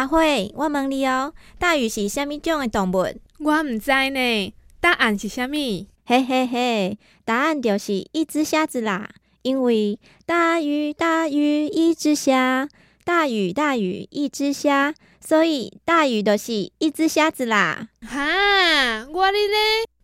阿花，我问你哦，大鱼是啥物种的动物？ 我唔知呢，答案是啥物？ 嘿嘿嘿，答案就是一只虾子啦。因为大鱼大鱼一只虾，大鱼大鱼一只虾，所以大鱼就是一只虾子啦。 哈，我哩咧。